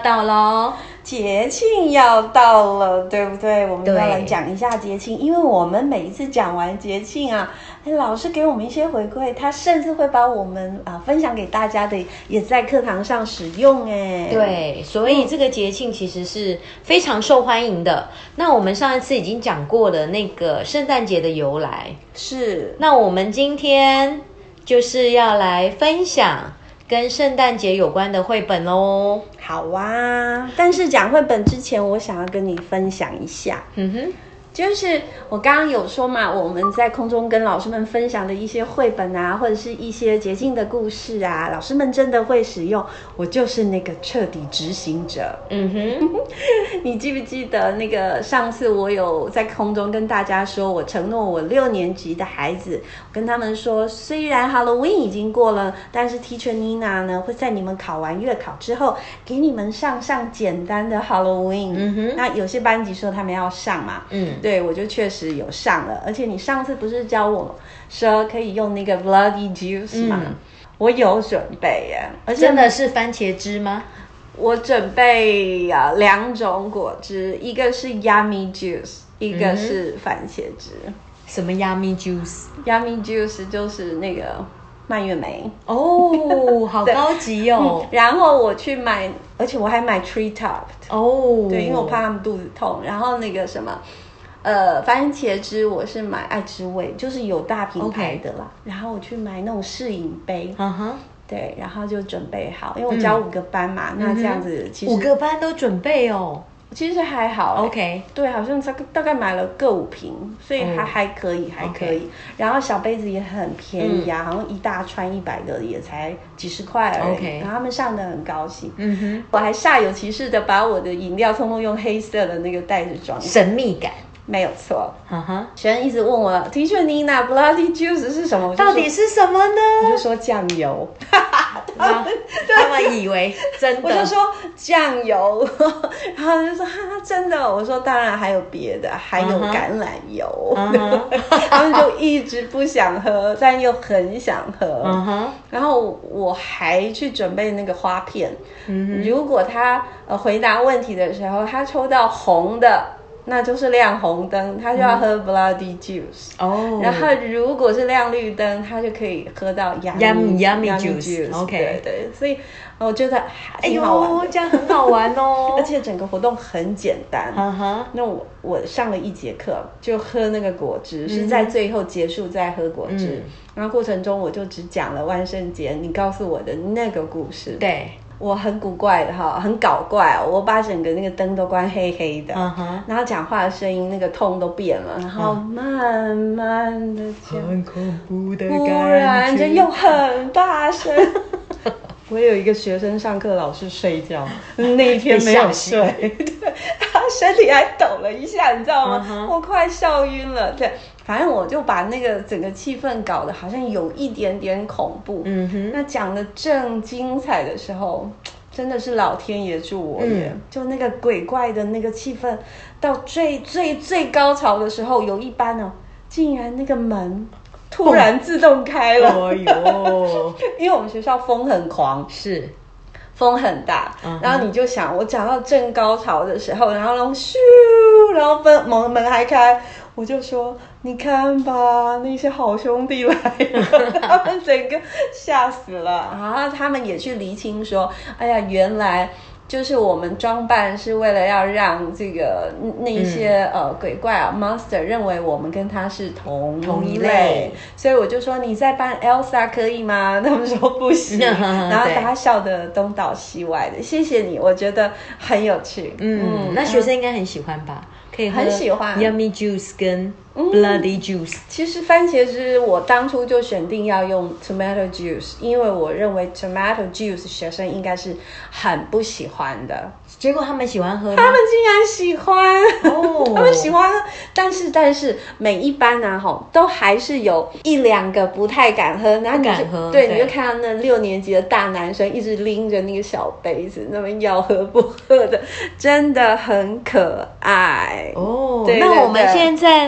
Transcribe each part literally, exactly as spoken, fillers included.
到咯， 節慶要到了，對不對？我們要來講一下節慶，因為我們每一次講完節慶啊，老師給我們一些回饋，他甚至會把我們啊分享給大家的，也在課堂上使用哎。 對，所以這個節慶其實是非常受歡迎的。嗯、那我們上一次已經講過了那個聖誕節的由來， 是。 那我們今天就是要來分享跟聖誕節有關的繪本哦。 好啊，但是講繪本之前，我想要跟你分享一下。嗯哼。就是我剛剛有說嘛，我們在空中跟老師們分享的一些繪本啊，或者是一些節慶的故事啊，老師們真的會使用。我就是那個徹底執行者。嗯哼，你記不記得那個上次我有在空中跟大家說，我承諾我六年級的孩子，跟他們說，雖然 Halloween 已經過了，但是 Teacher Nina 呢會在你們考完月考之後，給你們上上簡單的 Halloween。嗯哼，那有些班級說他們要上嘛。嗯。對，我就確實有上了，而且你上次不是教我說可以用那個 bloody juice 嗎？嗯、我有準備耶，而且真的是番茄汁嗎？ 我準備啊兩種果汁，一個是 yummy juice， 一個是番茄汁。嗯、 什麼 yummy juice？yummy juice 就是那個蔓越莓哦，好高級哦、 嗯。然後我去買，而且我還買 tree top 哦， 對，因為我怕他們肚子痛。然後那個什麼。呃，番茄汁我是買愛之味，就是有大品牌的啦。Okay. 然後我去買那種試飲杯，嗯哼、uh-huh. 對，然後就準備好，因為我教五個班嘛，嗯、那這樣子其實五個班都準備哦， 其實還好、欸。 OK，對， 好像大大概買了各五瓶，所以還、oh. 還可以，還可以。Okay. 然後小杯子也很便宜啊，嗯、好像一大串一百個也才幾十塊而已。Okay. 然後他們上得很高興。嗯哼，我還煞有其事的把我的飲料通通用黑色的那個袋子裝， 神秘感。 沒有錯，哈哈。學生一直問我 ，Teacher Nina bloody juice 是什麼？ 到底是什麼呢？ 我就說醬油， 他們他們以為真的， 我就說醬油，然後就說哈真的，我說當然還有別的，還有橄欖油， uh-huh. 他們就一直不想喝，但又很想喝， uh-huh. 然後我還去準備那個花片， uh-huh. 如果他呃回答問題的時候，他抽到紅的。那就是亮紅燈，他就要喝 bloody juice。哦。然後如果是亮綠燈，他就可以喝到 yummy yummy juice。OK。對對，所以我覺得挺好玩的。哎呦， 這樣很好玩哦。 而且整個活動很簡單。哈哈。那我我上了一節課，就喝那個果汁，嗯、是在最後結束再喝果汁。嗯、然後過程中我就只講了萬聖節你告訴我的那個故事。 對。 我很古怪的哈，很搞怪哦！我把整個那個燈都關黑黑的， uh-huh. 然後講話的聲音那個 tone 都變了，然後慢慢的講，很恐怖的感覺，忽然間又很大聲。我有一個學生上課老是睡覺，那一天沒有睡，對，他身體還抖了一下，你知道嗎？ Uh-huh. 我快笑暈了，對。反正我就把那個整個氣氛搞得好像有一點點恐怖。嗯哼。那講得正精彩的時候，真的是老天爺助我也。嗯、就那個鬼怪的那個氣氛，到最最最高潮的時候，有一班哦，竟然那個門突然自動開了。哦喲！因為我們學校風很狂，是風很大。Uh-huh. 然後你就想，我講到正高潮的時候，然後然後咻，然後門門門還開。我就說，你看吧，那些好兄弟來了，他們整個嚇死了。然後他們也去釐清說，哎呀，原來就是我們裝扮是為了要讓這個那一些、嗯、呃鬼怪啊 monster 認為我們跟他是同同一類，所以我就說你在扮 Elsa 可以嗎？他們說不行，然後大家笑得東倒西歪的。謝謝你，我覺得很有趣。嗯， 嗯，那學生應該很喜歡吧？可以喝很喜歡 Yummy Juice 跟 Bloody Juice、嗯。 其實番茄汁我當初就選定要用 Tomato Juice， 因為我認為 Tomato Juice 學生應該是很不喜歡的。 結果他們喜歡喝嗎？ 他們竟然喜歡哦，他們喜歡。但是但是每一班啊吼，都還是有一兩個不太敢喝，然後你就不敢喝，對，對，你就看到那六年級的大男生一直拎着那個小杯子，那麼要喝不喝的，真的很可愛。哦， 對對對，那我們現在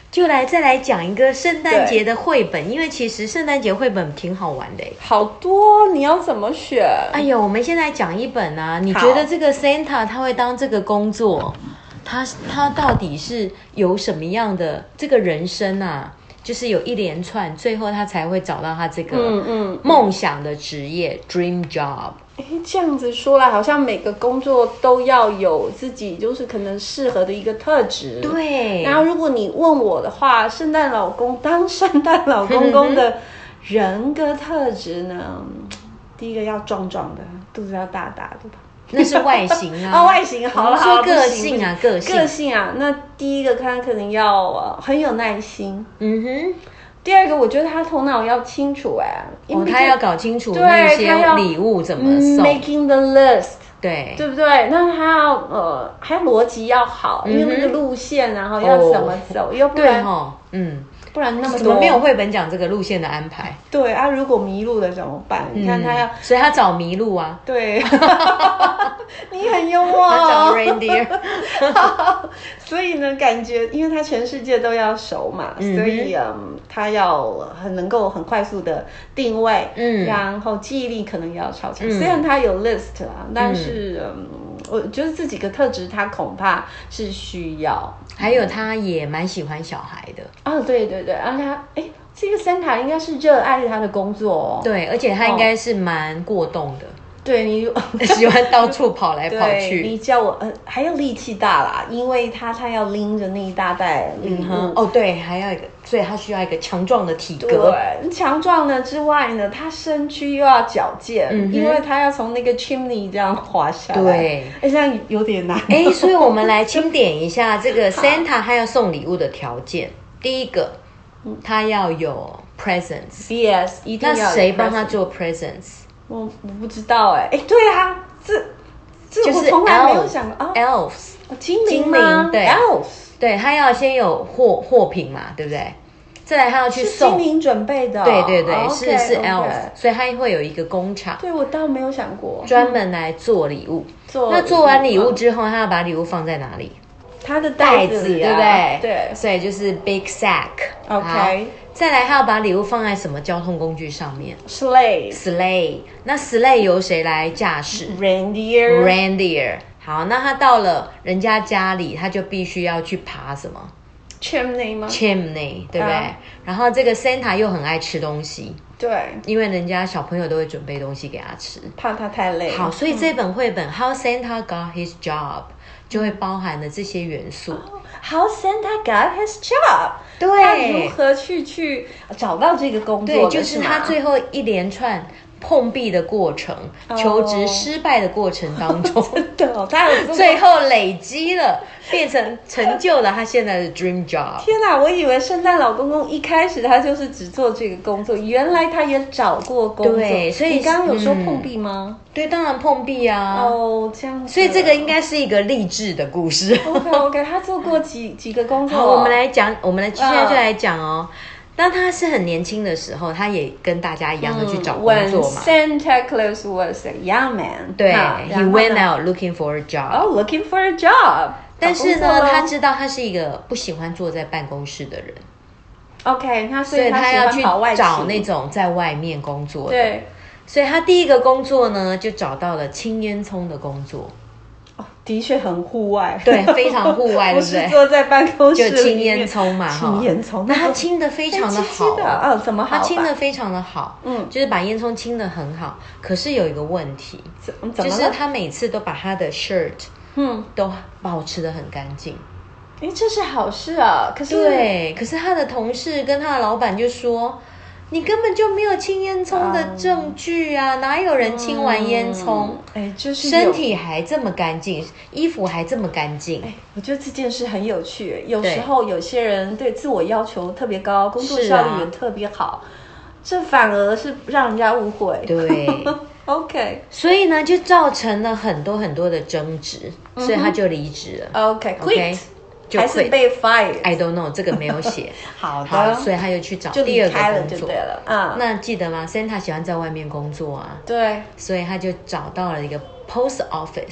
就來再來講一個聖誕節的繪本，因為其實聖誕節繪本挺好玩的。 好多，你要怎麼選？ 哎呦，我們現在講一本啊，你覺得這個 Santa 他會當這個工作，他他到底是有什麼樣的這個人生啊？就是有一連串，最後他才會找到他這個夢想的職業、嗯嗯、dream job。 哎，這樣子說來，好像每個工作都要有自己就是可能適合的一個特質。 對。 然後如果你問我的話，聖誕老公當聖誕老公公的人格特質呢？嗯、第一個要壯壯的，肚子要大大的吧。 那是外形啊， 哦，外形好了，好， 說個性啊，個性， 個性啊。那第一個他可能要、呃、很有耐心，嗯哼。第二個，我覺得他頭腦要清楚、欸，哎， 哦，他要搞清楚那些禮物怎麼送 ，making the list， 對， 對不對？那他要呃，還有邏輯要好，嗯、因為那個路線然後要怎麼走，又、哦、不然， 哦、嗯。 不然那麼多， 怎麼沒有繪本講這個路線的安排？ 對啊，如果迷路了怎麼辦？嗯、你看他要， 所以他找麋鹿啊。 對，你很幽默、哦。 他找 reindeer。 所以呢，感覺因為他全世界都要熟嘛，嗯、所以嗯，他要很能夠很快速的定位，嗯，然後記憶力可能也要超強。嗯、雖然他有 list 啊，但是嗯。嗯我覺得這幾個特質，他恐怕是需要。 還有，他也蠻喜歡小孩的。 哦，對對對，而且他，哎，這個 Santa 應該是熱愛他的工作哦。 對，而且他應該是蠻過動的。哦、對你喜歡到處跑來跑去。 你叫我，呃，還有力氣大啦，因為他他要拎着那一大袋禮物、嗯。 哦，對，還要一個，所以他需要一個強壯的體格。 對，強壯呢之外呢，他身軀又要矯健，嗯、因為他要從那個 chimney 這樣滑下來。 對， 哎，這樣有點難。 哎，所以我們來清點一下這個 Santa 他要送禮物的條件。第一個，他要有 presents。Yes， 一定要有 presents。那誰幫他做 presents？ 我我不知道哎、欸，哎，對啊，這這我從來沒有想過啊 ，elves， 精靈嗎？ 對 ，elves， 對，他要先有貨貨品嘛，對不對？再來他要去送， 精靈準備的、哦， 對對對，哦、是 okay, 是 elves， okay. 所以他會有一個工廠。 對，我倒沒有想過， 專門來做禮物。 做那做完禮物之後，他要把禮物放在哪裡？ 他的袋子、啊， 對不對？ 對， 所以就是 big sack。OK。再來，他要把禮物放在什麼交通工具上面 ？Sleigh。 Sleigh。那 Sleigh 由誰來駕駛 ？Reindeer。 Reindeer。好，那他到了人家家裡，他就必須要去爬什麼 ？Chimney 嗎 ？Chimney， 對不對？啊、然後這個 Santa 又很愛吃東西。 對。因為人家小朋友都會準備東西給他吃， 怕他太累。 好，所以這本繪本、嗯、How Santa Got His Job 就會包含了這些元素。 哦、How Santa Got His Job。對，他如何去去找到這個工作？ 對，就是他最後一連串碰壁的過程，哦、求職失敗的過程當中， 真的、哦，他有最後累積了，變成成就了他現在的 dream job。 天哪，我以為聖誕老公公一開始他就是只做這個工作，原來他也找過工作。 對，所以你剛剛有說碰壁嗎？ 嗯、對，當然碰壁啊。 哦，這樣子。 所以這個應該是一個勵志的故事。 OK OK， 他做過幾幾個工作、哦。 好，我們來講，我們來現在就來講哦。當他是很年輕的時候，他也跟大家一樣的去找工作嘛。 When Santa Claus was a young man， 對 ，He went out looking for a job. Oh, looking for a job. 但是呢，他知道他是一個不喜歡坐在辦公室的人。 OK， 他所以他要去找那種在外面工作的。 對， 所以他第一個工作呢，就找到了青煙囪的工作。 哦，的確很戶外， 對，非常戶外，對不對？ 不是坐在辦公室裡面， 就青煙囪嘛， 青煙囪， 那他清得非常的好， 哦，怎麼好？ 他清得非常的好，嗯，就是把煙囪清得很好。可是有一個問題， 怎麼了？ 就是他每次都把他的 shirt，嗯，都保持得很乾淨。 哎，這是好事啊！可是對，可是他的同事跟他的老闆就說，你根本就沒有清煙囪的證據啊！嗯、哪有人清完煙囪，哎、嗯，就是身體還這麼乾淨，衣服還這麼乾淨。哎，我覺得這件事很有趣。有時候有些人對自我要求特別高，工作效率也特別好，啊、這反而是讓人家誤會。 對 ，OK， 所以呢，就造成了很多很多的爭執，嗯、所以他就離職了。 OK， OK。 還是被 fired？I don't know， 這個沒有寫。 好的好，所以他又去找第二個工作。 就對了，嗯。 那記得嗎 ？Santa 喜歡在外面工作啊。 對。 所以他就找到了一個 post office，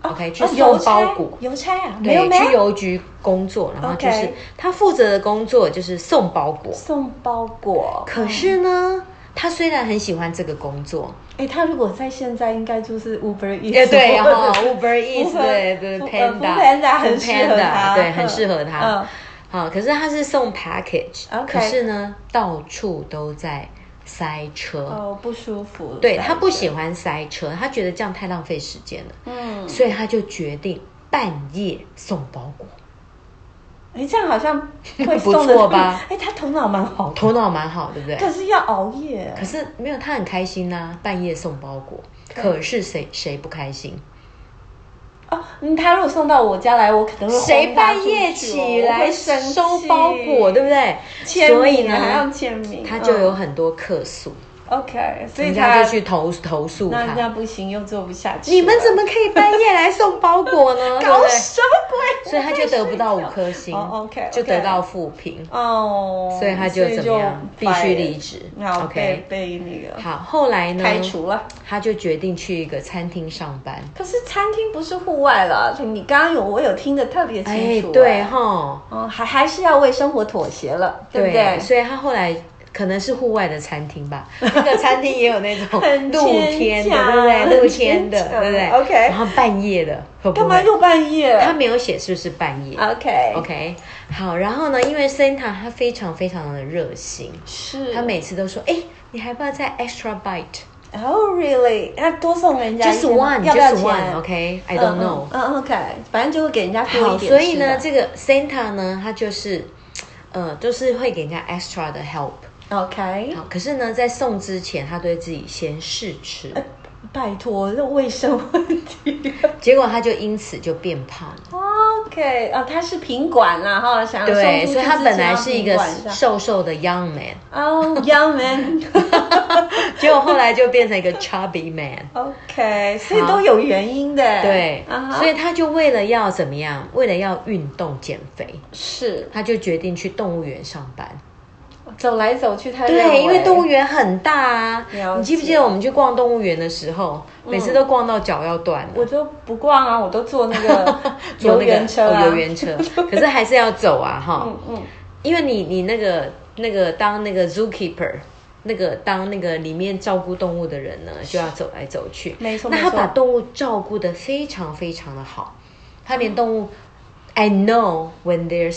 OK， 去送包裹。 郵差啊， 對，去郵局工作，然後就是他負責的工作就是送包裹。 送包裹。 可是呢，他雖然很喜歡這個工作， 哎，他如果在現在應該就是 Uber Eats。 對哈 ，Uber Eats，對對 ，Panda，Panda 很適合他， 對，很適合他。好，可是他是送 package， 可是呢，到處都在塞車， 哦，不舒服。 對，他不喜歡塞車，他覺得這樣太浪費時間了，嗯，所以他就決定半夜送包裹。 哎，這樣好像會不錯吧？ 哎，他頭腦蠻好， 頭腦蠻好，對不對？ 可是要熬夜， 可是沒有，他很開心吶，半夜送包裹。可是誰誰不開心？ 哦，嗯，他如果送到我家來，我可能會誰半夜起來收包裹，對不對？ 所以呢，還要簽名， 他就有很多客訴。 OK， 所以人家就去投投訴他， 那人家不行，又做不下去。 你們怎麼可以半夜來送包裹呢？ 搞什麼鬼？ 所以他就得不到五顆星， oh, okay, okay. 就得到負評哦。Oh, 所以他就怎麼樣？必須離職。OK， 被那個好，後來呢？ 開除了。 他就決定去一個餐廳上班。 可是餐廳不是戶外了，你剛剛有我有聽得特別清楚。 哎，對哈， 哦，還還是要為生活妥協了，對不對？ 所以他後來。可能是戶外的餐廳吧，那個餐廳也有那種露天的，對不對？露天的，對不對 ？OK。 然後半夜的，會不會？ 幹嘛又半夜？ 他沒有寫是不是半夜 ？OK OK。好，然後呢，因為 Santa 他非常非常的熱心， 是他每次都說，哎，你還不要再 extra bite？Oh really？那多送人家 just one， 要不要錢 just one？OK，I don't know。 嗯 OK， 反正就會給人家多一點。 好，所以呢，這個 Santa 呢，他就是呃，就是會給人家 extra 的 help。OK， 好，可是呢，在送之前，他都會自己先試吃。呃、 拜託，這衛生問題。 結果他就因此就變胖了。 OK， 啊，他是品管啦，哈，想要對，所以他本來是一個瘦瘦的 young man。 哦、oh, ，young man。 結果後來就變成一個 chubby man。OK， 所以都有原因的。 對， uh-huh. 所以他就為了要怎麼樣？為了要運動減肥， 是， 他就決定去動物園上班。 走來走去，他對，因為動物園很大啊。你記不記得我們去逛動物園的時候，嗯、每次都逛到腳要斷了。 我都不逛啊，我都坐那個遊園車啊， 遊園車。可是還是要走啊，哈。嗯嗯。因為你你那個那個當那個 zookeeper， 那個當那個裡面照顧動物的人呢，就要走來走去。 沒錯。 那他把動物照顧得非常非常的好，他連動物、嗯、，I know when they're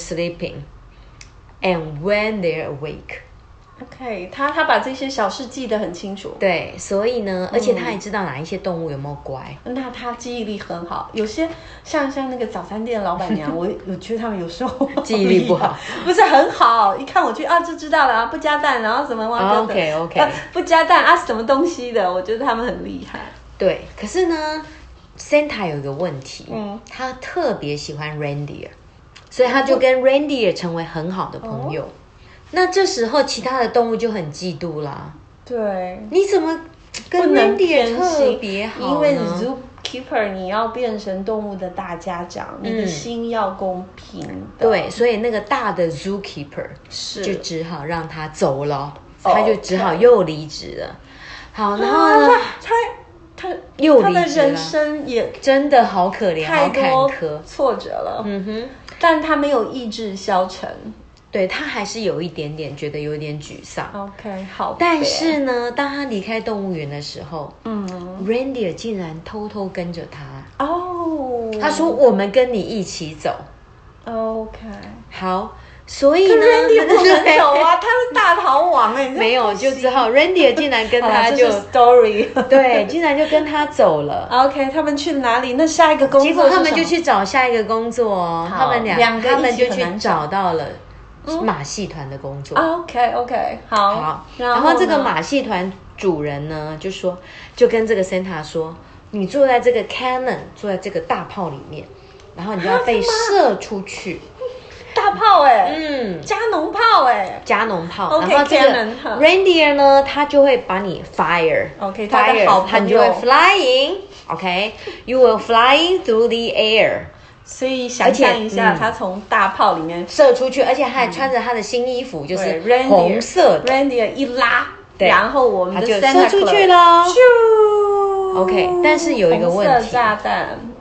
sleeping。And when they're awake, OK， 他他把這些小事記得很清楚。 對，所以呢，而且他也知道哪一些動物有沒有乖。 嗯、那他記憶力很好。有些像像那個早餐店的老闆娘，我我覺得他們有時候記憶力不好， 不是很好。一看我去啊，就知道了啊，不加蛋，然後什麼忘記的 OK OK，、 啊、不加蛋啊，什麼東西的？我覺得他們很厲害。 對，可是呢 ，Santa 有一個問題，嗯，他特別喜歡 reindeer。所以他就跟 reindeer 成為很好的朋友。哦、那這時候其他的動物就很嫉妒啦。 對， 你怎麼跟 reindeer 特別好呢？ 因為 zookeeper 你要變成動物的大家長，嗯、你的心要公平的。對， 所以那個大的 zookeeper 是就只好讓他走了，他就只好又離職了。好，然後呢？ 他他又離職了。 他的人生也真的好可憐，好坎坷， 挫折了。 嗯哼。 但他沒有意志消沉， 對，他還是有一點點覺得有點沮喪。 OK， 好。但是呢，當他離開動物園的時候，嗯 ，reindeer 竟然偷偷跟着他。哦，他說：“我們跟你一起走。” OK， 好。所以呢 ，reindeer 不能走啊，他是大逃亡哎、欸， 沒有就只好 reindeer 竟然跟他就 story， 對，竟然就跟他走了。 OK， 他們去哪裡？那下一個工作是什麼？ 結果他們就去找下一個工作哦，他們倆兩個他們就去找到了馬戲團的工作。 嗯、OK OK， 好。 好，然後這個馬戲團主人呢，就說就跟這個 Santa 說，你坐在這個 cannon， 坐在這個大炮裡面，然後你就要被射出去。 大炮哎、欸， 嗯， 加農炮哎、欸， 加農炮。 Okay, 然後這個 reindeer 呢，它就會把你 fire，OK， 它的好朋友，它就會 flying，OK，you will flying through the air。 所以想象一下，它從大炮裡面射出去，而且它還穿着它的新衣服，就是紅色的。 reindeer 一拉，然後我們就射出去了。OK， 但是有一個問題， 紅色炸彈，嗯，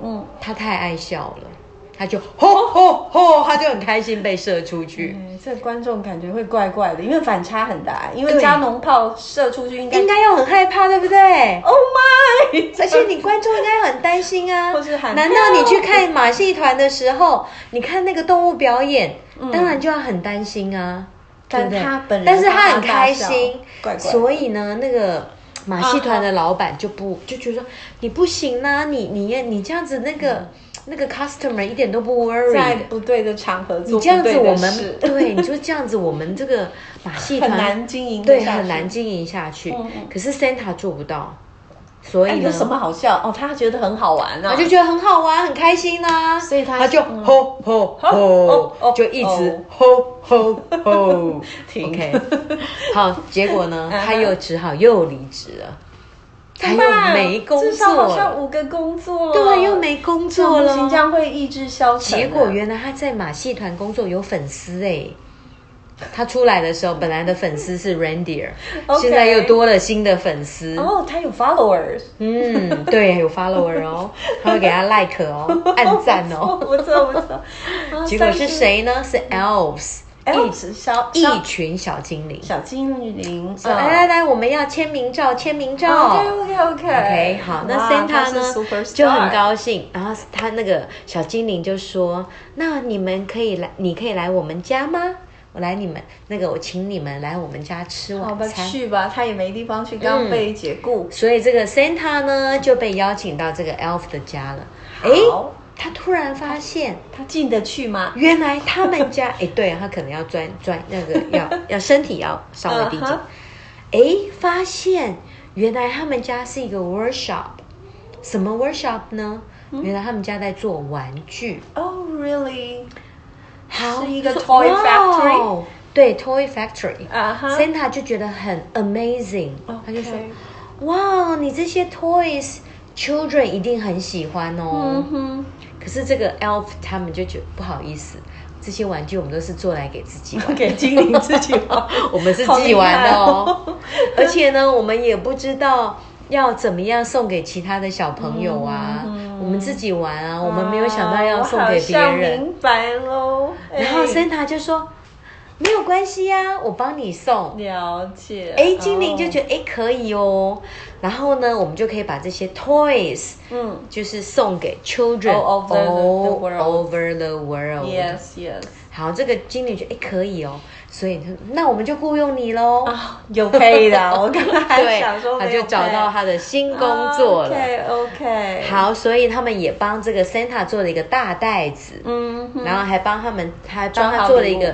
他太愛笑了，他就吼吼吼，他就很開心被射出去。 嗯，這個觀眾感覺會怪怪的，因為反差很大。因為加農炮射出去應該，應該應該要很害怕，對不對 ？Oh my！ 而且你觀眾應該很擔心啊。 或是喊難道你去看馬戲團的時候，你看那個動物表演，嗯、當然就要很擔心啊。 但他本人， 但是他很開心， 怪怪所以呢，那個馬戲團的老闆就不、啊、就覺得說你不行啊，你你你這樣子那個、嗯、那個 customer 一點都不 worried， 在不對的場合做不你這樣子我們對，你說這樣子我們這個馬戲團很難經營， 對，很難經營下去。嗯嗯，可是 Santa 做不到。所以呢、 欸、有什麼好笑哦？他覺得很好玩啊， 他就覺得很好玩，很開心啊， 所以他他就吼吼吼，就一直吼吼吼。 停 OK， 好，結果呢，他又只好又離職了，他又沒工作了，至少好像五個工作了， 對，又沒工作了， 這樣會意志消沉。 結果原來他在馬戲團工作有粉絲哎、欸。他出來的時候，本來的粉絲是 Reindeer，okay. 現在又多了新的粉絲。 哦、oh, 他有 followers。嗯， 對，有 follower 哦，他會給他 like 哦，按讚哦。 不錯不錯。 結果是誰呢？是 elves， elves 小一群小精靈。 小精靈。 來、oh. 來來，我們要簽名照，簽名照。 OK OK OK OK， 好，那 Santa 呢就很高興，然後他那個小精靈就說：“那你們可以來，你可以來我們家嗎？”我來你們那個，我請你們來我們家吃晚餐。好吧， 去吧，他也沒地方去，剛被解雇、嗯。 所以這個 Santa 呢就被邀請到這個 Elf 的家了。哎，他突然發現， 他進得去嗎？ 原來他們家，哎，對，他可能要鑽鑽那個要要身體要稍微低點。哎、uh-huh. 發現原來他們家是一個 workshop， 什麼 workshop 呢？嗯、原來他們家在做玩具。 Oh really？ 好， 是一個 toy factory，、wow, 對 toy factory，啊、 uh-huh. Santa 就覺得很 amazing，、okay. 他就說，哇，你這些 toys children 一定很喜歡哦。嗯、可是這個 elf 他們就覺得不好意思，這些玩具我們都是做來給自己玩， 給精靈自己玩， 我們是自己玩的哦。而且呢，我們也不知道要怎麼樣送給其他的小朋友啊。嗯我們自己玩啊，我們沒有想到要送給別人。哦、我好像明白嘍。 然後 Santa 就說：“沒有關係啊，我幫你送。” 了解。 哎，精靈就覺得哎、哦、可以哦。然後呢，我們就可以把這些 toys，嗯，就是送給 children all over the world. All over the world. Yes, yes. 好，這個精靈覺得哎可以哦。所以那我們就雇傭你嘍啊，有配的。我剛剛還想說， 他就找到他的新工作了。 OK OK。 好，所以他們也幫這個 Santa 做了一個大袋子，嗯，然後還幫他們，還幫他做了一個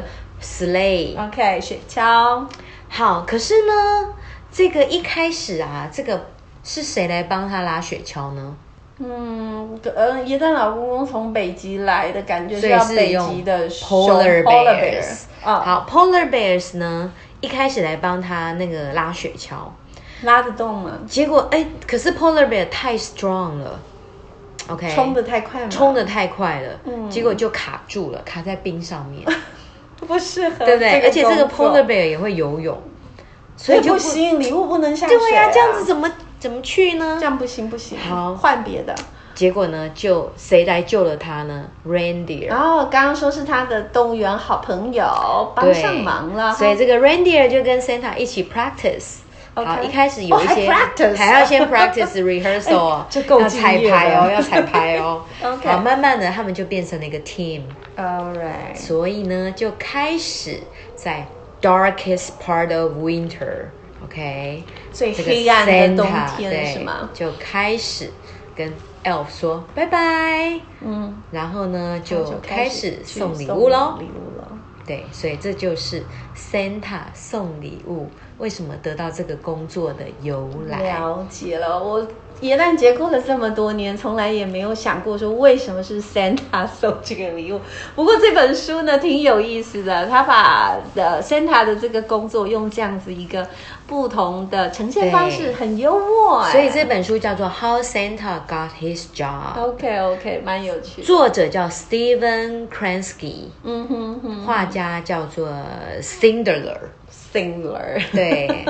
sleigh。OK， 雪橇。 好，可是呢，這個一開始啊，這個是誰來幫他拉雪橇呢？嗯， 呃，耶誕老公公從北極來的感覺，是要北極的 polar bears。哦、好 ，polar bears 呢，一開始來幫他那個拉雪橇， 拉得動嗎？ 結果哎，可是 polar bear 太 strong 了 ，OK， 衝得太快了， 衝得太快了，嗯，結果就卡住了，卡在冰上面， 不適合， 對不對？而且這個 polar bear 也會游泳，所以就不， 不行，禮物不能下水、啊。 對呀、啊，這樣子怎麼怎麼去呢？ 這樣不行不行， 好， 換別的。 結果呢，就誰來救了他呢 ？Reindeer。 然後剛剛說是他的動物園好朋友，幫上忙了。 所以這個 Reindeer 就跟 Santa 一起 practice。Okay. 好，一開始有一些、哦、還, practice 還要先 practice rehearsal， 這夠要彩排哦，要彩排哦。 OK。 好，慢慢的他們就變成了一個 team。 All right。 所以呢，就開始在 darkest part of winter，OK，、okay? 最黑暗的冬天是嗎？ 就開始跟 Elf 說拜拜，嗯，然後呢就開始送禮物嘍，禮物了，對，所以這就是 Santa 送禮物為什麼得到這個工作的由來。 了解了，我耶誕節過了這麼多年，從來也沒有想過說為什麼是 Santa 送這個禮物。不過這本書呢挺有意思的，他把的 Santa 的這個工作用這樣子一個不同的呈現方式，很幽默哎。 所以這本書叫做 How Santa Got His Job。OK OK， 蠻有趣的。 作者叫 Steven Kransky， 嗯哼哼，畫家叫做 Sindelar。 Sandler， 對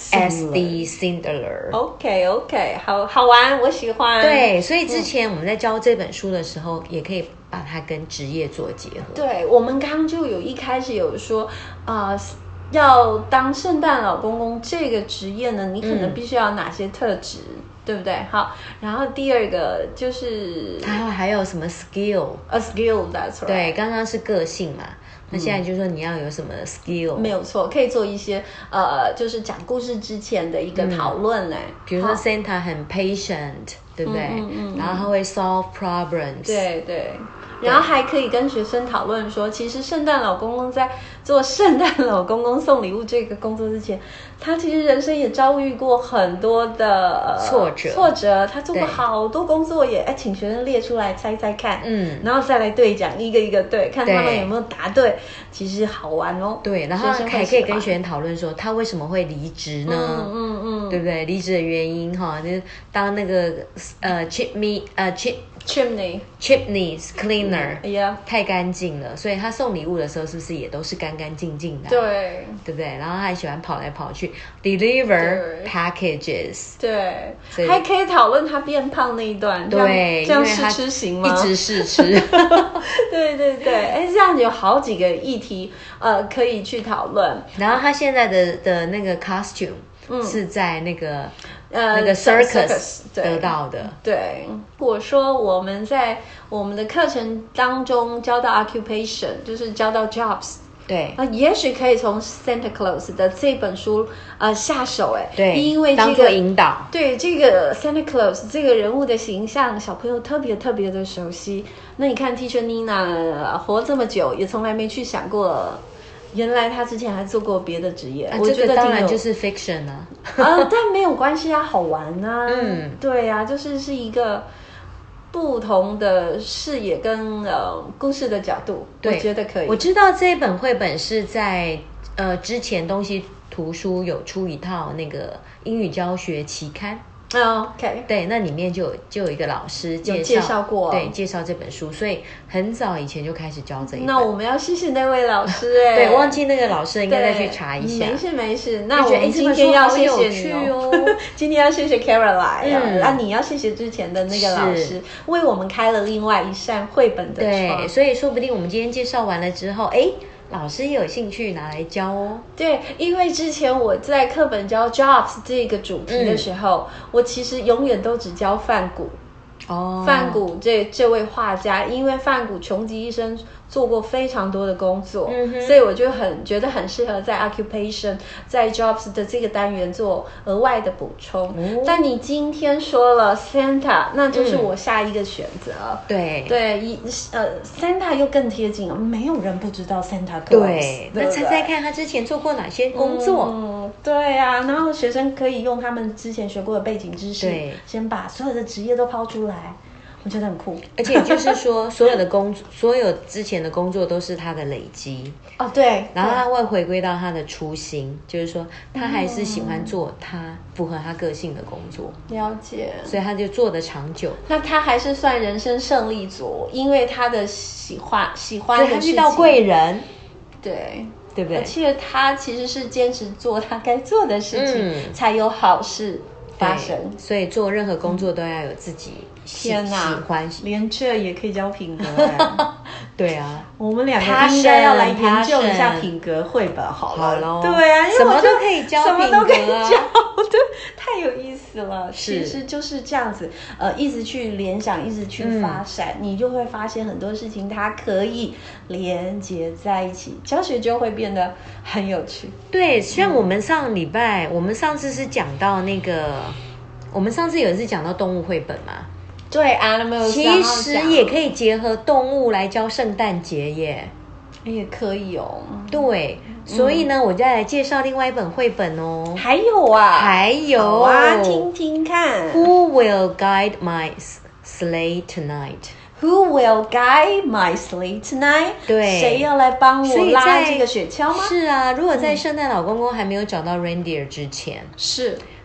，S D Sandler。OK OK， 好好玩，我喜歡。 對，所以之前我們在教這本書的時候，嗯、也可以把它跟職業做結合。 對，我們剛剛就有一開始有說啊、呃，要當聖誕老公公這個職業呢，你可能必須要有哪些特質？嗯對不對？好，然後第二個就是還有還有什麼 skill？A skill，that's right。 對，剛剛是個性嘛，那現在就是說你要有什麼 skill？、嗯、 沒有錯，可以做一些呃，就是講故事之前的一個討論呢、嗯。 比如說 Santa 很 patient，對不對？嗯嗯嗯、然後他會 solve problems。 對對。然後還可以跟學生討論說，其實聖誕老公公在做聖誕老公公送禮物這個工作之前，他其實人生也遭遇過很多的挫折。 挫折，他做過好多工作也，哎，請學生列出來猜猜看，嗯，然後再來對講，一個一個對，看他們有沒有答對，其實好玩哦。 對，然後還可以跟學生討論說，他為什麼會離職呢？嗯嗯嗯，對不對？離職的原因哈，就是當那個呃 chimney 呃 chim chimney chimneys cleaner。 哎呀， 太乾淨了，所以他送禮物的時候是不是也都是乾乾淨淨的、啊？ 對， 對不對？然後他還喜歡跑來跑去 deliver packages。 對，還可以討論他變胖那一段。 對， 這樣試吃行嗎？ 一直試吃。 對對對，哎，這樣有好幾個議題，呃，可以去討論。 然後他現在的的那個 costume、嗯、是在那個。呃，那個 circus 得到的。 對，對，我說我們在我們的課程當中教到 occupation， 就是教到 jobs。 對， 啊，也許可以從 Santa Claus 的這本書呃下手，哎， 對， 因為這個當做引導。對， 這個 Santa Claus 這個人物的形象，小朋友特別特別的熟悉。那你看 Teacher Nina 活這麼久，也從來沒去想過。原來他之前還做過別的職業，啊、我覺得、這個、 當然就是 fiction 啊， 啊，但沒有關係啊，好玩啊，嗯，對啊，就是是一個不同的視野跟呃故事的角度，我覺得可以。 我知道這一本繪本是在呃之前東西圖書有出一套那個英語教學期刊。 Oh, OK， 對，那裡面就有就有一個老師介紹， 介紹過， 對，介紹這本書，所以很早以前就開始教這一本。 那我們要謝謝那位老師哎， 對，忘記那個老師，應該再去查一下。 沒事沒事，那我們今天要謝謝你哦，今天要謝謝 Caroline，嗯，那你要謝謝之前的那個老師，為我們開了另外一扇繪本的窗。 對，所以說不定我們今天介紹完了之後，哎。老師也有興趣拿來教哦。 對，因為之前我在課本教 jobs 這個主題的時候，嗯、我其實永遠都只教梵谷。哦，梵谷這這位畫家，因為梵谷窮極一生做過非常多的工作，嗯、所以我就很覺得很適合在 occupation 在 jobs 的這個單元做額外的補充。哦、但你今天說了 Santa， 那就是我下一個選擇。嗯、對對，一呃 Santa 又更貼近了，沒有人不知道 Santa Claus。 對，那猜猜看他之前做過哪些工作？ 嗯，對啊，然後學生可以用他們之前學過的背景知識，對，先把所有的職業都拋出來。我覺得很酷， 而且就是說，所有的工作，所有之前的工作都是他的累積哦，對。 然後他會回歸到他的初心，就是說，他還是喜歡做他符合他個性的工作。 了解。所以他就做得長久。 那他還是算人生勝利組，因為他的喜歡喜歡的事情， 他遇到貴人， 對。 對不對？ 而且他其實是堅持做他該做的事情，嗯、才有好事發生。 所以做任何工作都要有自己喜、嗯、喜歡， 連這也可以教品格。 對啊， 我們兩個應該要來研究一下品格繪本好了。好咯，對啊，因為什麼都可以教品格啊，什麼都可以教， 對，太有意思了。其實就是這樣子，呃，一直去聯想，一直去發散，嗯、你就會發現很多事情它可以連接在一起，教學就會變得很有趣。 對，像我們上禮拜，嗯、我們上次是講到那個，我們上次有一次講到動物繪本嘛。 對 ，animals 其實也可以結合動物來教聖誕節耶， 也可以哦。 對，所以呢，嗯、我再來介紹另外一本繪本哦。 還有啊， 還有好啊，聽聽看。 Who will guide my sleigh tonight? Who will guide my sleigh tonight? 對， 誰要來幫我拉這個雪橇嗎？ 是啊，如果在聖誕老公公還沒有找到 reindeer 之前， 是。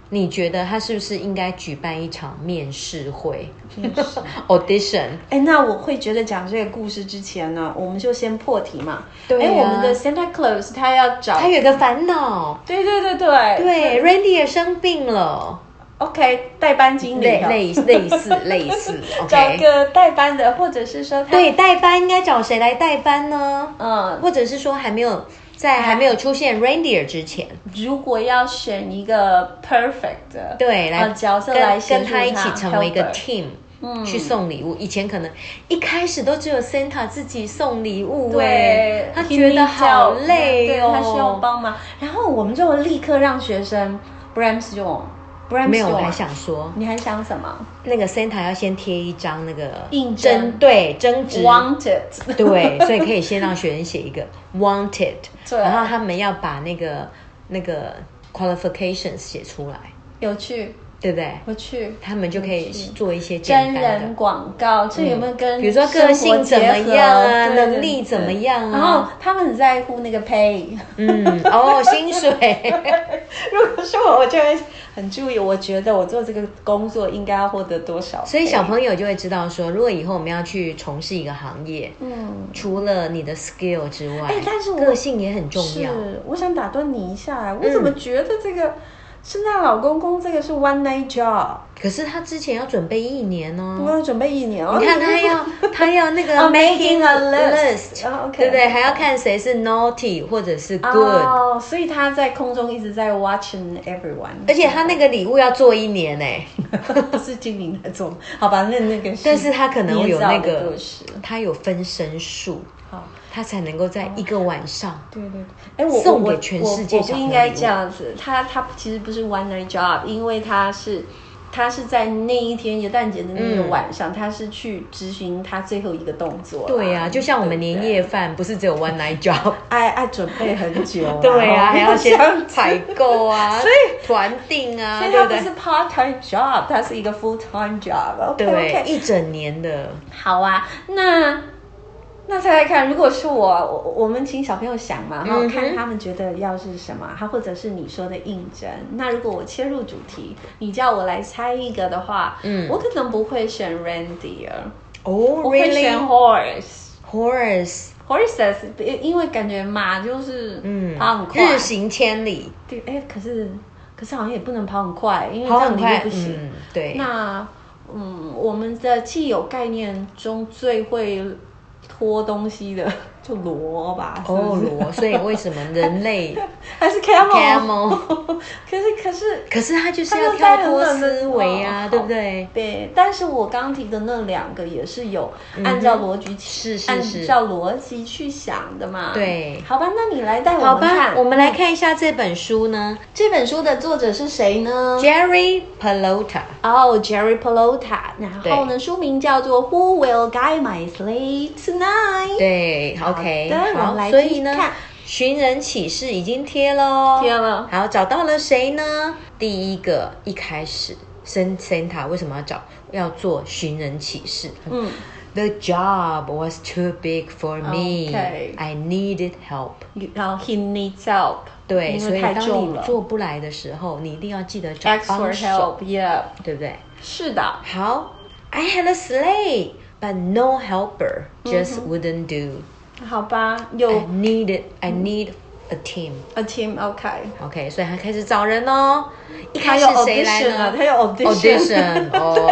你覺得他是不是應該舉辦一場面試會？面試 audition？ 哎，那我會覺得講這個故事之前呢，我們就先破題嘛。 對、啊， 哎，我們的 Santa Claus 他要找， 他有個煩惱。 對對對對對 ，Reindeer 生病了。 OK， 代班經理， 類類類似類似， okay. 找個代班的，或者是說他， 對，代班應該找誰來代班呢？ 嗯， 或者是說還沒有在還沒有出現 Reindeer 之前， 如果要選一個 perfect 的對來、呃、 角色來跟跟他一起成為一個 helper team。 嗯， 去送禮物，以前可能一開始都只有 Santa 自己送禮物， 對， 他覺得好累哦， 他需要幫忙。然後我們就立刻讓學生 brainstorm，brainstorm。 沒有，我還想說， 你還想什麼？ 那個 Santa 要先貼一張那個應徵， 對，徵職 wanted， 對，所以可以先讓學生寫一個 wanted， 對， 然後他們要把那個那個 qualifications 寫出來， 有趣。 對不對？ 我去， 他們就可以做一些真人廣告，這有沒有跟、 嗯、比如說個性怎麼樣啊，能力怎麼樣啊？ 然後他們很在乎那個 pay， 嗯，哦，薪水。 如果說我，我就會很注意，我覺得我做這個工作應該要獲得多少 pay， 所以小朋友就會知道說，如果以後我們要去從事一個行業，嗯，除了你的 skill 之外，哎，但是我個性也很重要。 是，我想打斷你一下，我怎麼覺得這個？嗯，聖誕老公公這個是 one night job， 可是他之前要準備一年哦。 我要準備一年哦。 你看他要他要那個 making a list， oh, okay. 對不對？還要看誰是 naughty 或者是 good。 哦，所以他在空中一直在 watching everyone。 而且他那個禮物要做一年哎， 不是精靈在做，好吧？那那個是， 但是他可能有那個，他有分身術。他才能夠在一個晚上，哦、對對對，哎，我送給全世界小朋友。我不應該這樣子，他他其實不是 one night job， 因為他是他是在那一天元旦節的那個晚上，嗯、他是去執行他最後一個動作。對呀、啊，就像我們年夜飯，不是只有 one night job， 愛愛準備很久、啊。對呀、啊，還要先採購啊，所以團訂啊，所以他不是 part time job， 他是一個 full time job。對， okay, 一整年的。好啊，那。那猜猜看，如果是我，我我們請小朋友想嘛，然後看他們覺得要是什麼，他、嗯、或者是你說的應徵。那如果我切入主題，你叫我來猜一個的話，嗯，我可能不會選 reindeer， 哦，我會選 horse，horse，horse， horses， 因為感覺馬就是嗯跑很快，日行千里。對，哎，可是可是好像也不能跑很快，因為這樣你又不行。嗯、對，那嗯，我們的既有概念中最會拖東西的就騾吧，是不是？哦，騾，所以為什麼人類還是 camel？camel？ 可是可是可是他就是要跳脫思維啊，對不對？對，但是我剛提的那兩個也是有按照邏輯，是是是，按照邏輯去想的嘛。對，好吧，那你來帶我們看。好吧，我們來看一下這本書呢。這本書的作者是誰呢？ Jerry Pelota。哦 ，Jerry Pelota。然後呢，書名叫做 Who Will Guide My Sleigh Tonight？ 對，好。OK， 好，所以呢，尋人啟事已經貼了，貼了。好，找到了誰呢？第一個，一開始，Santa 為什麼要找要做尋人啟事？嗯 ，The job was too big for me. Okay. I needed help. 然後 He needs help. 對，所以當你做不來的時候，你一定要記得找幫手 ，Yeah， 對不對？是的。好 ，I had a sleigh, but no helper, just wouldn't do. 好吧，有 I need it, I need a team, a team, OK, OK， 所以他開始找人哦。一開始誰來呢？他有 audition， 哦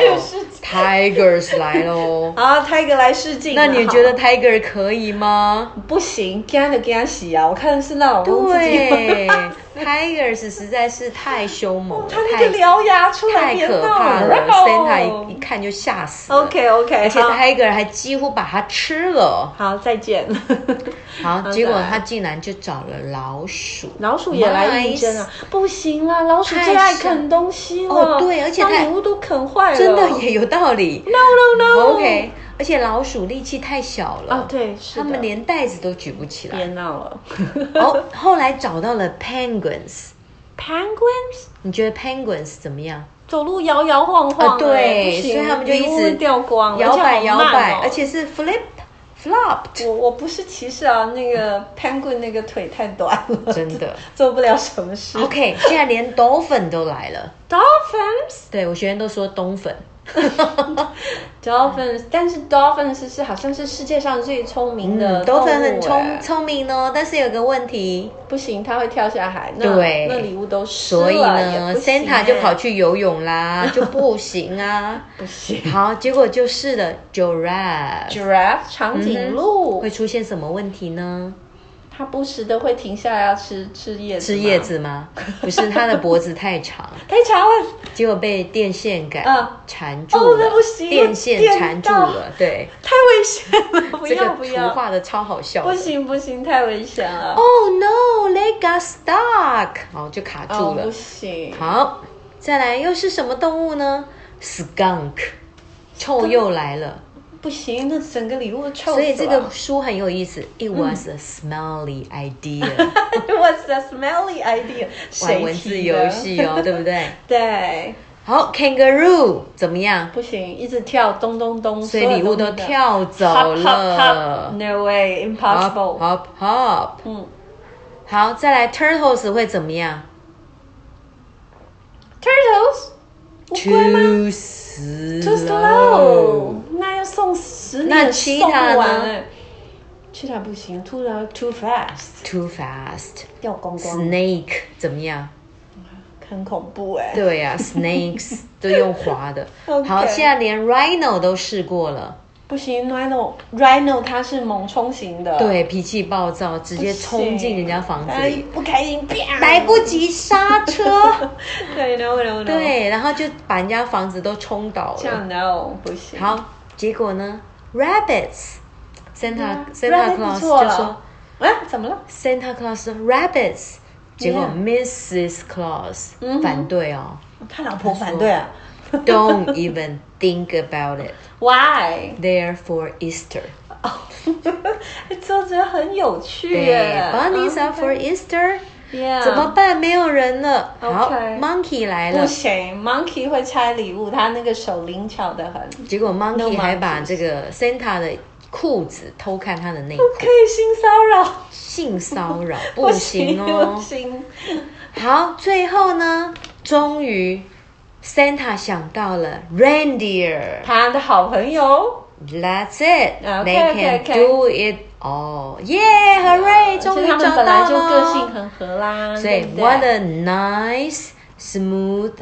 ，Tigers 來嘍。啊 ，Tiger 來試鏡。那你覺得 Tiger 可以嗎？不行，給他就給他洗啊！我看的是那種對，Tigers 實在是太凶猛了，他那個獠牙出來太可怕了 ，Santa 一一看就嚇死了。OK OK， 而且 Tiger 還幾乎把它吃了。好，再見。好，結果他竟然就找了老鼠，老鼠也來應徵啊！不行啦，老鼠最愛啃東西了。哦，對，而且它禮物都啃壞了，真的也有道理。No no no。OK，而且老鼠力氣太小了。啊，對，是的。他們連袋子都舉不起來。別鬧了。哦，後來找到了 penguins。Penguins？ 你覺得 penguins 怎麼樣？走路搖搖晃晃。啊，對，所以他們就一直掉光，搖擺搖擺，而且是 flip。 flopped。 我我不是歧視啊，那個 penguin 那個腿太短了， 真的做不了什麼事。 OK， 現在連 dolphin 都來了 ，dolphins。 對，我學生都說冬粉。 dolphins， 但是 dolphins 是好像是世界上最聰明的動物、欸。 dolphin 很聰聰明哦，但是有個問題， 不行，它會跳下海，那對， 那禮物都濕了， 所以呢 ，Santa 就跑去游泳啦，就不行啊， 不行。 好，結果就是了 ，giraffe，giraffe 長頸鹿、 嗯、會出現什麼問題呢？ 它不時的會停下來要吃吃葉子， 吃葉子嗎？不是，它的脖子太長， 太長了， 結果被電線桿纏住了， 哦，那不行， 電線纏住了，對， 太危險了，不要不要， 這個圖畫的超好笑的， 不行不行，太危險了。 Oh no, they got stuck， 好，就卡住了， 哦，不行。 好，再來又是什麼動物呢 ？Skunk， 臭鼬來了。 不行，那整個禮物臭死了。 所以這個書很有意思。It was a smelly idea. It was a smelly idea. 玩文字遊戲哦，對不對？ 對。 好 ，Kangaroo 怎麼樣？ 不行，一直跳，咚咚咚， 所以禮物都跳走了。 Hop, hop, hop. No way, impossible. Hop, hop, hop. 嗯。好，再來 Turtles 會怎麼樣 ？Turtles 烏龜嗎 ？Too slow. Too slow. 那要送十年送不完哎。Cheetah 不行 ，too too fast。 Too fast。 掉光光。 Snake 怎麼樣？ 很恐怖哎。 對呀、啊、，Snakes 都用滑的。 okay. 好，現在連 Rhino 都試過了。 不行 ，Rhino Rhino 它是猛衝型的， 對，脾氣暴躁，直接衝進人家房子裡， 不開心， 來不及剎車。 對 ，no no no。 對，然後就把人家房子都衝倒了。 這樣 no 不行。 好，結果呢 ？Rabbits，Santa、嗯、Santa Claus 就說， 啊，怎麼了 ？Santa Claus 說 Rabbits， 結果 Missus Claus、嗯、反對哦， 他老婆反對啊。 Don't even think about it. Why? They're for Easter. 这这很有趣耶。 Bunnies are for Easter. Yeah. 怎麼辦？沒有人了。好 okay. ，Monkey 來了。 不行 ，Monkey 會拆禮物，他那個手靈巧得很。 結果 Monkey 還把這個 Santa 的褲子偷看他的內褲。 不可以性騷擾。 性騷擾不行哦。 不行。 好，最後呢，終於。Santa 想到了 reindeer， 他的好朋友。 That's it. Okay, They can okay, okay. do it all. Yeah, hooray! 終於找到了。 他們本來就個性很合啦。 所以 what a nice, smooth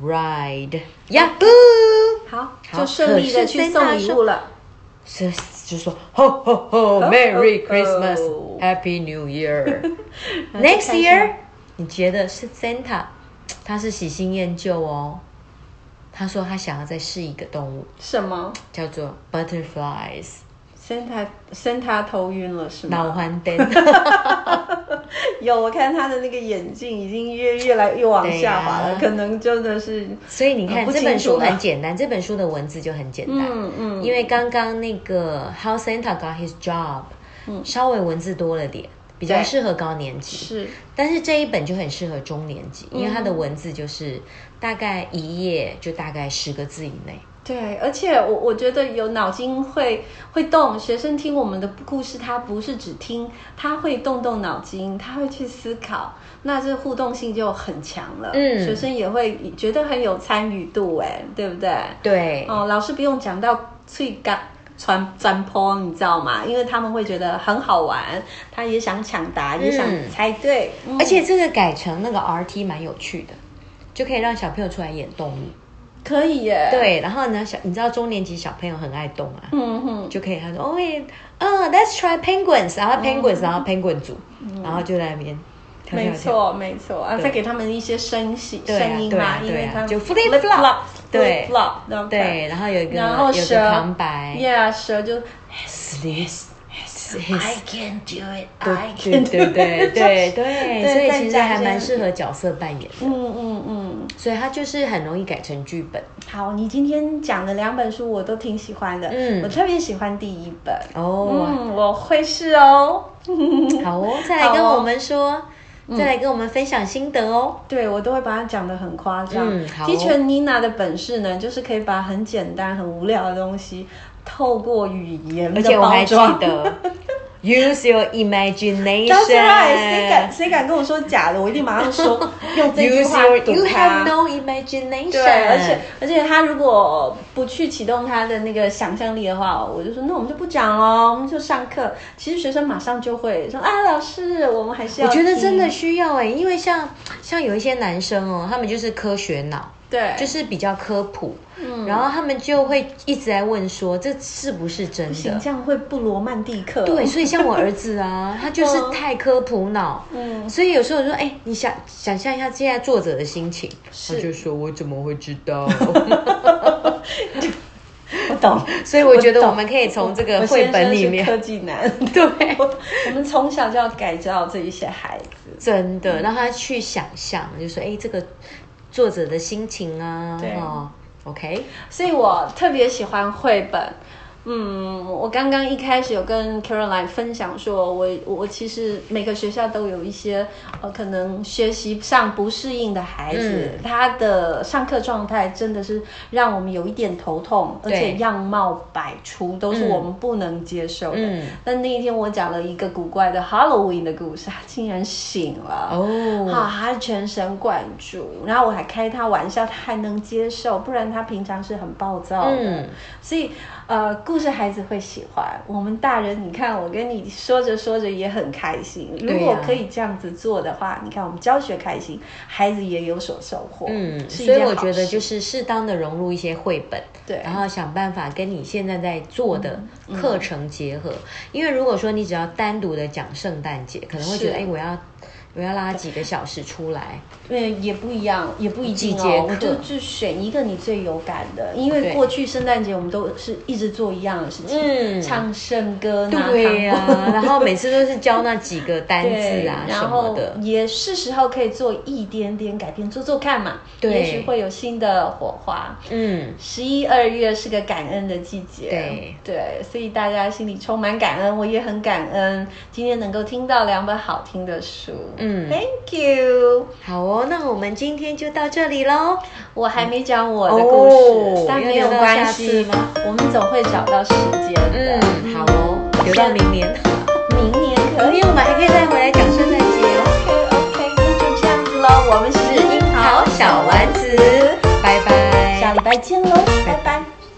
ride. Yahoo! 好，就順利的去送禮物了。 是就說 Ho ho ho, Merry Christmas, Happy New Year. Next year， 你覺得是 Santa？ 他是喜新厭舊哦。他說他想要再試一個動物， 什麼？ 叫做 butterflies。 Santa Santa 頭暈了是嗎？ 腦還燈。 有，我看他的那個眼鏡已經越越來越往下滑了，啊、可能真的是。 所以你看、呃、這本書很簡單，這本書的文字就很簡單。 嗯嗯。 因為剛剛那個 How Santa Got His Job，、嗯、稍微文字多了點。比較適合高年級， 是， 但是這一本就很適合中年級，因為它的文字就是大概一頁就大概十個字以內。 對，而且我我覺得有腦筋會會動，學生聽我們的故事，他不是只聽，他會動動腦筋，他會去思考，那這互動性就很強了。嗯，學生也會覺得很有參與度，哎，對不對？ 對。哦， 老師不用講到最高。傳傳播，你知道嗎？因為他們會覺得很好玩，他也想搶答，嗯、也想猜對、嗯。 而且這個改成那個 R T 蠻有趣的，就可以讓小朋友出來演動物。 可以耶。對， 然後呢，小你知道中年級小朋友很愛動啊， 嗯哼， 就可以他說，哦，嗯 ，Let's try penguins， 然後 penguins，、嗯、然後 penguin 組、嗯，然後就在那邊。 沒錯，沒錯啊！再給他們一些聲息聲音嘛、啊，因為他們就 flip flop， 對 flop，對，然後有一個然後蛇有個旁白 ，yeah， 蛇就 yes I can do it， I can do it， 對對對對，所以其實還蠻適合角色扮演的， 嗯嗯嗯， 所以它就是很容易改成劇本。 好，你今天講的兩本書我都挺喜歡的，嗯，我特別喜歡第一本，哦，嗯，我會試哦， 好哦，再來跟我們說。 再來跟我們分享心得哦。 對，我都會把它講得很誇張。 嗯，好哦。 Teacher Nina 的本事呢，就是可以把很簡單、很無聊的東西，透過語言的包裝，而且我還記得。 Use your imagination. That's right. 誰敢誰敢跟我說假的？我一定馬上說用這句話堵他。 You have no imagination. 對，而且而且他如果不去啟動他的那個想象力的話，我就說那我們就不講了，我們就上課。其實學生馬上就會說啊，老師，我們還是要。 我覺得真的需要哎、欸，因為像像有一些男生哦，他們就是科學腦。 對， 就是比較科普，嗯，然後他們就會一直在問說，這是不是真的？ 不行，這樣會不羅曼蒂克。 對，所以像我兒子啊，他就是太科普腦，嗯，所以有時候我說，哎，你想想象一下現在作者的心情，他就說，我怎麼會知道？ 我懂， 所以我覺得我們可以從這個繪本裡面， 科技男， 對， 我們從小就要改造這一些孩子， 真的讓他去想象，就說，哎，這個。作者的心情啊，對、哦、，OK， 所以我特別喜歡繪本。嗯，我剛剛一開始有跟 Caroline 分享說，我我其實每個學校都有一些呃可能學習上不適應的孩子，嗯、他的上課狀態真的是讓我們有一點頭痛，而且樣貌百出，都是我們不能接受的。嗯、但那一天我講了一個古怪的 Halloween 的故事，他竟然醒了，哦，好，他全神貫注，然後我還開他玩笑，他還能接受，不然他平常是很暴躁的，嗯、所以呃故事孩子會喜歡，我們大人你看我跟你說着說着也很開心，如果可以這樣子做的話，你看我們教學開心，孩子也有所收穫，嗯， 所以我覺得就是適當的融入一些繪本， 對， 然後想辦法跟你現在在做的課程結合，嗯嗯、因為如果說你只要單獨的講聖誕節，可能會覺得哎我要我要拉幾個小時出來， 嗯，也不一樣，也不一定哦。我就就選一個你最有感的，因為過去聖誕節我們都是一直做一樣的事情，嗯，唱聖歌， 對呀、啊，然後每次都是教那幾個單字啊什麼的， 也是時候可以做一點點改變，做做看嘛，對，也許會有新的火花。嗯，十一二月是個感恩的季節，對對，所以大家心裡充滿感恩，我也很感恩今天能夠聽到兩本好聽的書。嗯 ，Thank you。 好哦，那我們今天就到這裡嘍。 我還沒講我的故事，哦、但沒有關係，我們總會找到時間的。 嗯，好哦，留到明年。 明年可以， 明年我們還可以再回來講聖誕節哦。 OK OK，那就這樣子嘍。我們是櫻桃小丸子， 拜拜， 下禮拜見嘍。